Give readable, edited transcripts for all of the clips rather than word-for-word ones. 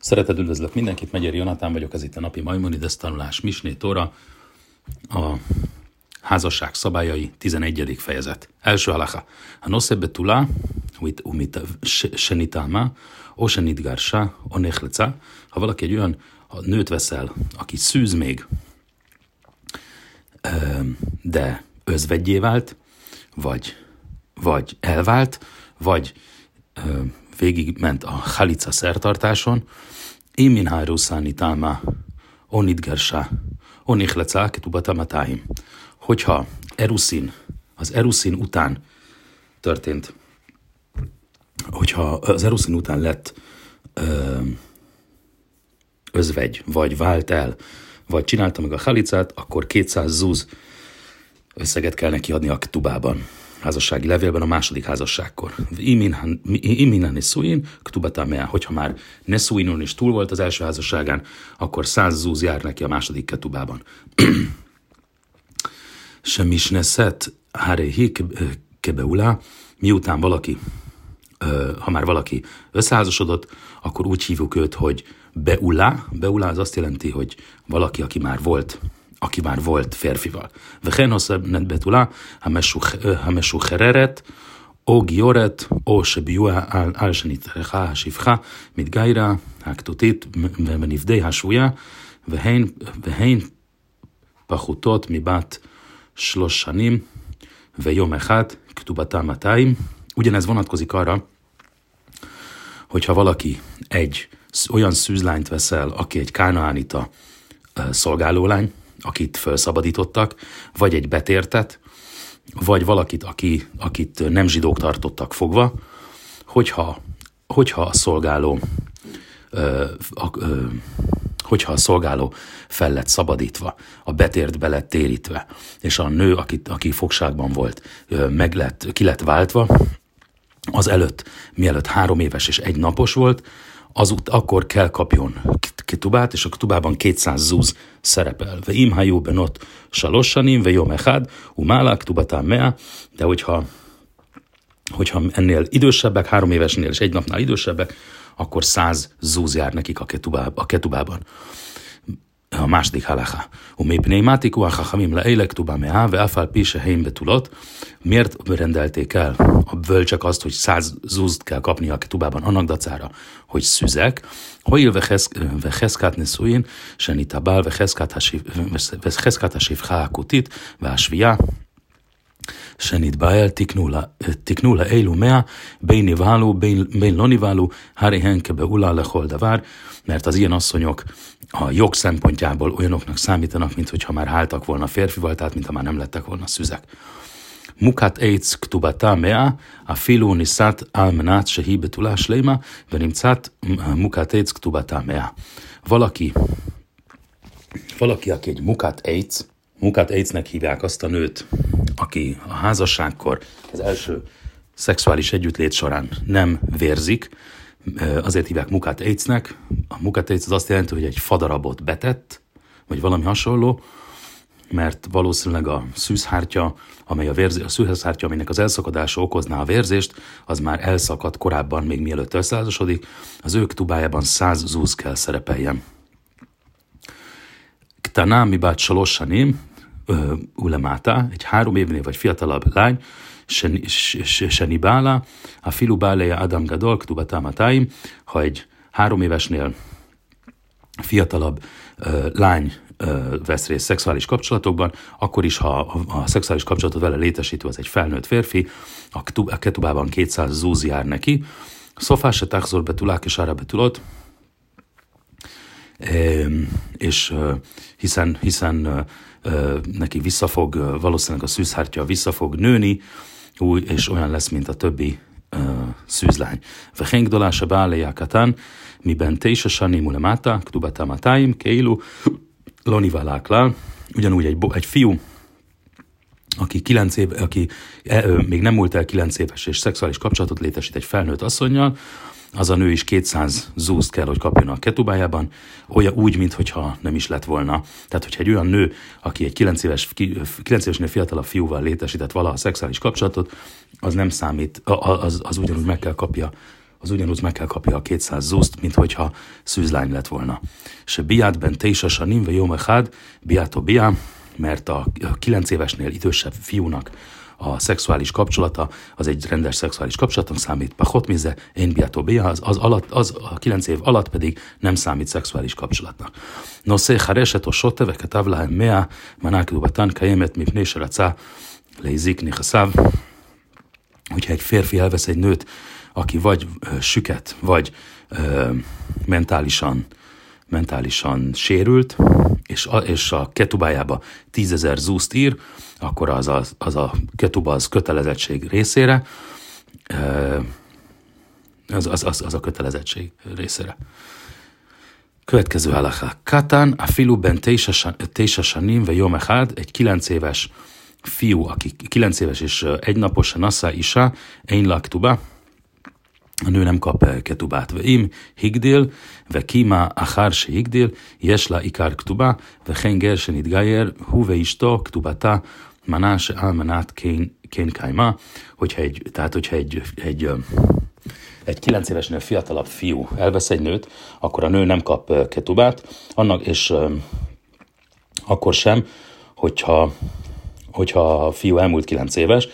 Szeretettel üdvözlök mindenkit, Megyeri Jonatán vagyok, ez itt a napi Maimonides tanulás, Misné Tóra, a házasság szabályai, 11. fejezet. Első halacha. A nosze betula, umit senitálma, o senitgársa, o nechleca. Ha valaki egy olyan nőt veszel, aki szűz még, de özvegyé vált, vagy elvált, vagy végigment a halica szertartáson, Imin háruszáni táma, onidgersa, onichlece, ketubatamátáim. Hogyha az eruszin után történt, hogyha az eruszin után lett özvegy, vagy vált el, vagy csinálta meg a halicát, akkor 200 zúz összeget kell neki adni a ktubában, házassági levélben a második házasságkor. Imin neszuin, ktubatamea. Hogyha már neszuinon is túl volt az első házasságán, akkor 100 zúz jár neki a második ketubában. Semisneszet háréhi kebeulá, miután valaki, ha már valaki összeházasodott, akkor úgy hívjuk őt, hogy beulá. Beulá az azt jelenti, hogy valaki, aki már volt férfival. Vehen hosszebb betulá, ha mesuchereret, o gioret, o sebiua álsenitrecha, sivcha, mit gaira, haktutit, menivdei hasúja, vehen pachutot mibat shlosh shanim, vejom echad, ktubatamátáim. Ugyanez vonatkozik arra, hogyha valaki egy olyan szűzlányt veszel, aki egy kánaánita szolgálólány, akit felszabadítottak, vagy egy betértet, vagy valakit, akit nem zsidók tartottak fogva, hogyha a szolgáló fel lett szabadítva, a betért be lett térítve, és a nő, aki fogságban volt, ki lett váltva, az előtt, mielőtt 3 éves és 1 napos volt, akkor kell kapjon ketubát, és a ketubában 200 zúz szerepel. Ve imhajú benot salossanim, ve jom echad, umála ketubatán mea, de hogyha ennél idősebbek, 3 évesnél és 1 napnál idősebbek, akkor 100 zúz jár nekik a ketubában. A második halacha. Umépnémátiku a hachamim leélek tuba mea, ve afal pise heim betulot. Miért rendelték el a bölcsek azt, hogy 100 zúzt kell kapni a ketubában annak dacára, hogy szüzek? Hoil ve cheszkát neszuin, senitabál, ve cheszkát hasivcha akutit, ve asvia, senitbael tiknula eilu mea, bein niváló, bein lo niváló, hárihen kebeulá lechol davár, mert az ilyen asszonyok a jog szempontjából olyanoknak számítanak, mint hogyha már háltak volna férfival, tehát mintha már nem lettek volna szüzek. Mukat eitz ktubata mea, a filu niszát almenát sehi betulás leima, venimcát mukat eitz ktubata mea. Valaki, aki egy mukat eitznek hívják azt a nőt, aki a házasságkor az első szexuális együttlét során nem vérzik, azért hívják mukat eitznek. A mukat eitz az azt jelenti, hogy egy fadarabot betett, vagy valami hasonló, mert valószínűleg a szűzhártya, aminek az elszakadása okozná a vérzést, az már elszakadt korábban, még mielőtt összeházasodik, az ő ktubájában 100 zúz kell szerepeljen. Ktaná mibát salossanim, ulemáta, egy 3 évnél vagy fiatalabb lány, senibála, a filu báleja Adam Gadol, ktubatamátáim, ha egy 3 évesnél fiatalabb lány vesz részt szexuális kapcsolatokban, akkor is, ha a szexuális kapcsolatot vele létesítő az egy felnőtt férfi, a ketubában 200 zúz jár neki. Szofás se tachzor betulák és ára betulott, és hiszen neki valószínűleg a szűzhártya vissza fog nőni, és olyan lesz, mint a többi szűzlány. Vehen gdolása báleja katán, miben teisa sanim ulemáta, ktubatamátáim, keilu, lonivaláklál. Ugyanúgy egy fiú, aki még nem múlt el 9 éves, és szexuális kapcsolatot létesít egy felnőtt asszonnyal, az a nő is 200 zúzt kell, hogy kapjon a ketubájában, olyan úgy, mintha nem is lett volna. Tehát, hogyha egy olyan nő, aki egy 9 évesnél fiatalabb fiúval létesített valaha szexuális kapcsolatot, az nem számít, az ugyanúgy meg kell kapja az ugyanúgy meg kell kapja a 200 zuszt, mint hogyha szűzlány lett volna. Se biát ben teisa sanim ve jom echad, biátó biá, mert a 9 évesnél idősebb fiúnak a szexuális kapcsolata, az egy rendes szexuális kapcsolatnak számít, pachot mize, én biátó biá, az a 9 év alatt pedig nem számít szexuális kapcsolatnak. No se hareset o sote, ve ketav lahem mea, manák dubatan kajemet mipné se racá, leizik nichaszav. Hogyha egy férfi elvesz egy nőt, aki vagy süket, vagy mentálisan sérült, és a ketubájába 10 000 zuszt ír, akkor az a ketuba az kötelezettség részére, az a kötelezettség részére. Következő halacha. Katán a filu ben teisa sanim ve yom echad, egy 9 éves fiú, aki 9 éves és egy napos nassa isha, ein la ktuba, a nő nem kap ketubát. Ve im higdil, ve kima achar se higdil, jesla ikar ktuba, ve chen ger se nitgayer, hu ve isto ktubata, maná se almanát kén kaima. Hogyha egy 9 évesnél fiatalabb fiú elvesz egy nőt, akkor a nő nem kap ketubát, és akkor sem, hogyha a fiú elmúlt 9 éves,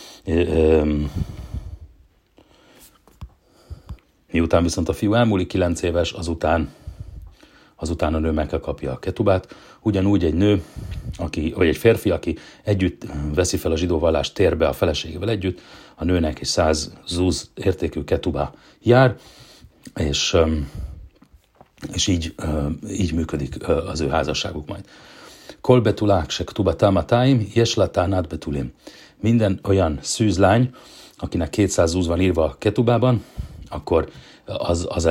miután viszont a fiú elmúlik 9 éves, azután a nő meg kell kapja a ketubát. Ugyanúgy egy nő, vagy egy férfi, aki együtt veszi fel a zsidó vallást, tér be a feleségével együtt, a nőnek is 100 zuz értékű ketubá jár, és így működik az ő házasságuk majd. Kol betulák se ktuba támatáim, jeslatánát betulim. Minden olyan szűzlány, akinek 200 zúz van írva a ketubában, akkor az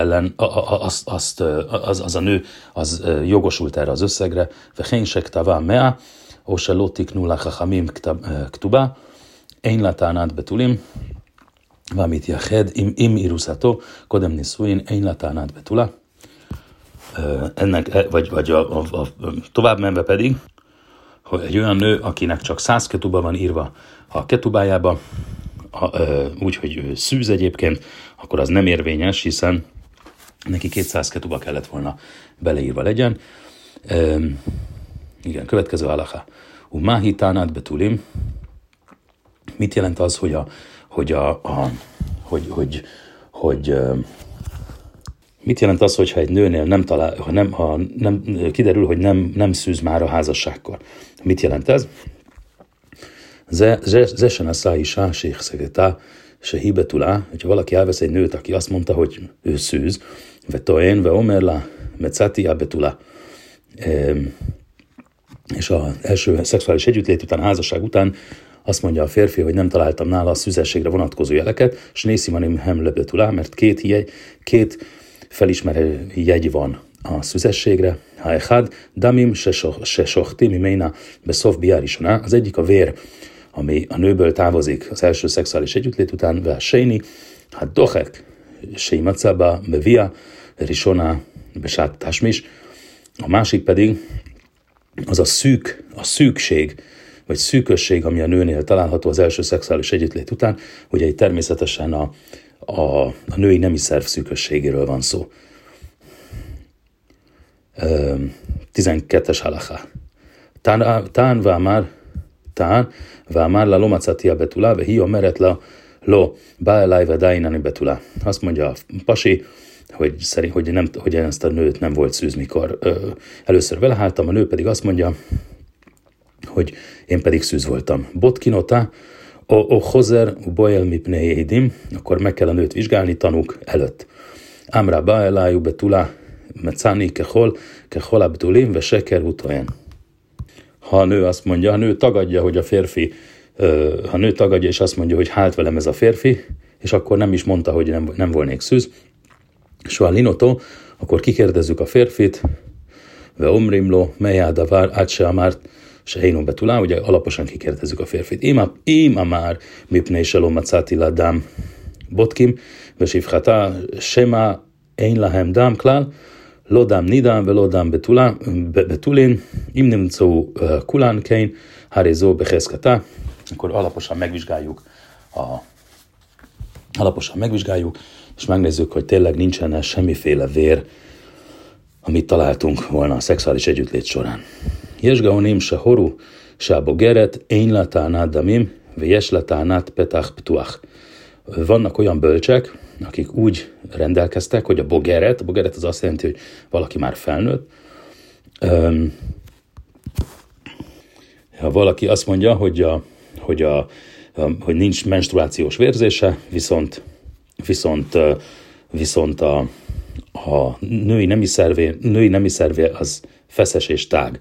a nő az jogosult erre az összegre. Vechén se ktavá mea, o se lotiknu la chachamim ktuba, én latánát betulim, valamit jached, im iruszató, kodem niszuin, én latánát betula. Ennek, vagy a tovább menve pedig, hogy egy olyan nő, akinek csak 100 ketuba van írva a ketubájába, úgy, hogy ő szűz egyébként, akkor az nem érvényes, hiszen neki 200 ketuba kellett volna beleírva legyen. Igen, következő halacha. Umáhi tánát betulim. Mit jelent az, mit jelent az, hogyha egy nőnél nem talál, ha nem kiderül, hogy nem szűz már a házasságkor? Mit jelent ez? Ze se nassa isha sheichsegeta shehi betula, hogyha valaki elvesz egy nőt, aki azt mondta, hogy ő szűz, ve toen ve omer la metzati a betula, és az első szexuális együttlét után, házasság után azt mondja a férfi, hogy nem találtam nála a szűzességre vonatkozó jeleket, s nészimanim hem le betula, mert két felismerő jegy van a szüzességre. Ha echad, damim se sochti mimeina beszov biárisona. Az egyik a vér, ami a nőből távozik az első szexuális együttlét után, ve sejni, hát dohek, seimatszaba, bevia, risona, besát tasmis. A másik pedig az a szűkség, vagy szűkösség, ami a nőnél található az első szexuális együttlét után, ugye itt természetesen a női nemi szerv szűkösségéről van szó. 12-es halacha. Tán vámár la lomacatia betula, ve hi omeret la lo báelaj vedáinani betula. Azt mondja a pasi, hogy ezt a nőt nem volt szűz, mikor először veleháltam, a nő pedig azt mondja, hogy én pedig szűz voltam. Botkinota, o hozer boel mipnei édim, akkor meg kell a nőt vizsgálni tanúk előtt. Amra báelájú betula, mecáni kehol abdulim, ve seker utoen. Ha a nő azt mondja, ha a nő tagadja, hogy a férfi, ha a nő tagadja és azt mondja, hogy hált velem ez a férfi, és akkor nem is mondta, hogy nem volnék szűz, soha linoto, akkor kikérdezzük a férfit, ve omrimlo, melyádavar, átse amárt, se hénon betulá, ugye alaposan kikérdezzük a férfit. Ima már mipnei selom macáti ladám botkim, ve sivchata sema ein lahem dám klál, lodám nidám, ve lodám betulin, im nemcó kulán kein, harézó beheszkata. Akkor alaposan megvizsgáljuk, és megnézzük, hogy tényleg nincsen semmiféle vér, amit találtunk volna a szexuális együttlét során. Jesgaonim se horu, se bogeret, én latánát damim, ve jes latánát petach ptuach. Vannak olyan bölcsek, akik úgy rendelkeztek, hogy a bogeret az azt jelenti, hogy valaki már felnőtt. Ha valaki azt mondja, hogy nincs menstruációs vérzése, viszont a női nemi szervé az feszes és tág.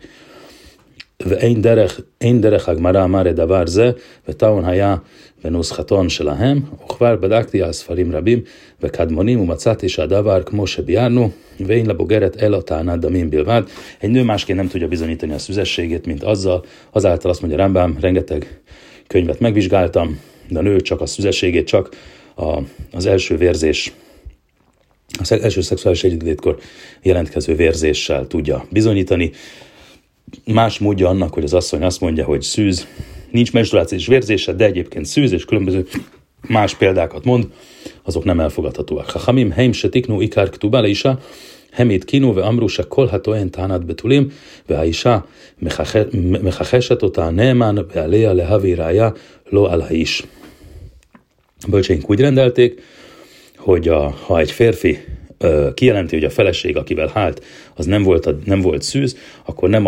אין דרך הגמרא אמר דבר זה, וטעון היה בנוסחתון שלהם, וכבר בדקתי על ספרים רבים וקדמונים, ומצאתי שהדבר כמו שביארנו, ואין לבוגרת אלא טענת דמים בלבד. Egy nő másként nem tudja bizonyítani a szüzességét, mint azáltal azt mondja Rambam, rengeteg könyvet megvizsgáltam, de a nő csak a szüzességét, csak az első vérzés, az első szexuális együttlétkor jelentkező vérzéssel tudja bizonyítani. Más módja annak, hogy az asszony azt mondja, hogy szűz, nincs menstruációs vérzése, de egyébként szűz, és különböző más példákat mond, azok nem elfogadhatóak. Chachamim heim se tiknu ikár ktubá leisha, hemit kinu ve amru se kolható en tánat betulim, ve haisha mechacheset otá neemán ve alea lehavirája lo al haish. Bölcseink úgy rendelték, hogy ha egy férfi kijelenti, hogy a feleség, akivel hált, az nem volt szűz, akkor nem a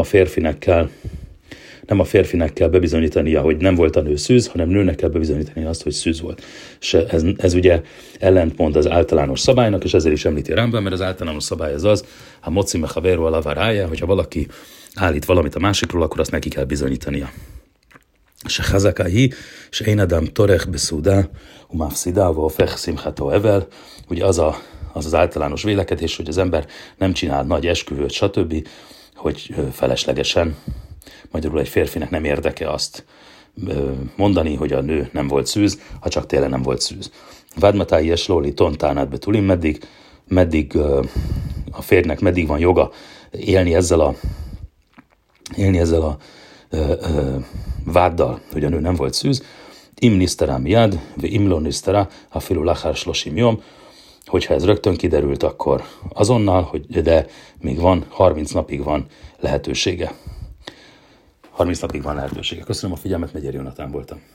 férfinek kell bebizonyítania, hogy nem volt a nő szűz, hanem nőnek kell bebizonyítani azt, hogy szűz volt. És ez ugye ellentmond az általános szabálynak, és ezért is említi Rambam, mert az általános szabály az, ha moci mechavéru alavárája, hogyha valaki állít valamit a másikról, akkor azt neki kell bizonyítania. Se hazakai, se én adam torech beszúdá, umafszidá, vofech szimcható evel, ugye az általános vélekedés, hogy az ember nem csinál nagy esküvőt, stb., hogy feleslegesen, magyarul egy férfinek nem érdeke azt mondani, hogy a nő nem volt szűz, ha csak tényleg nem volt szűz. Vádmatái és lóli tontánát betulim, meddig a férjnek meddig van joga élni ezzel a váddal, hogy a nő nem volt szűz. Im niszterá miad, ve imló niszterá, ha filu lachár slosim jom, hogyha ez rögtön kiderült, akkor azonnal, de még 30 napig van lehetősége. 30 napig van lehetősége. Köszönöm a figyelmet, Megyeri Jonatán voltam.